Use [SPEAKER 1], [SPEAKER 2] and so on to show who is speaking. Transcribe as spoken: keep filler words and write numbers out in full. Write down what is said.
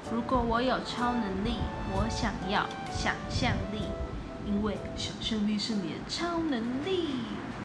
[SPEAKER 1] 如果我有超能力，我想要想象力，因为想象力是你的超能力。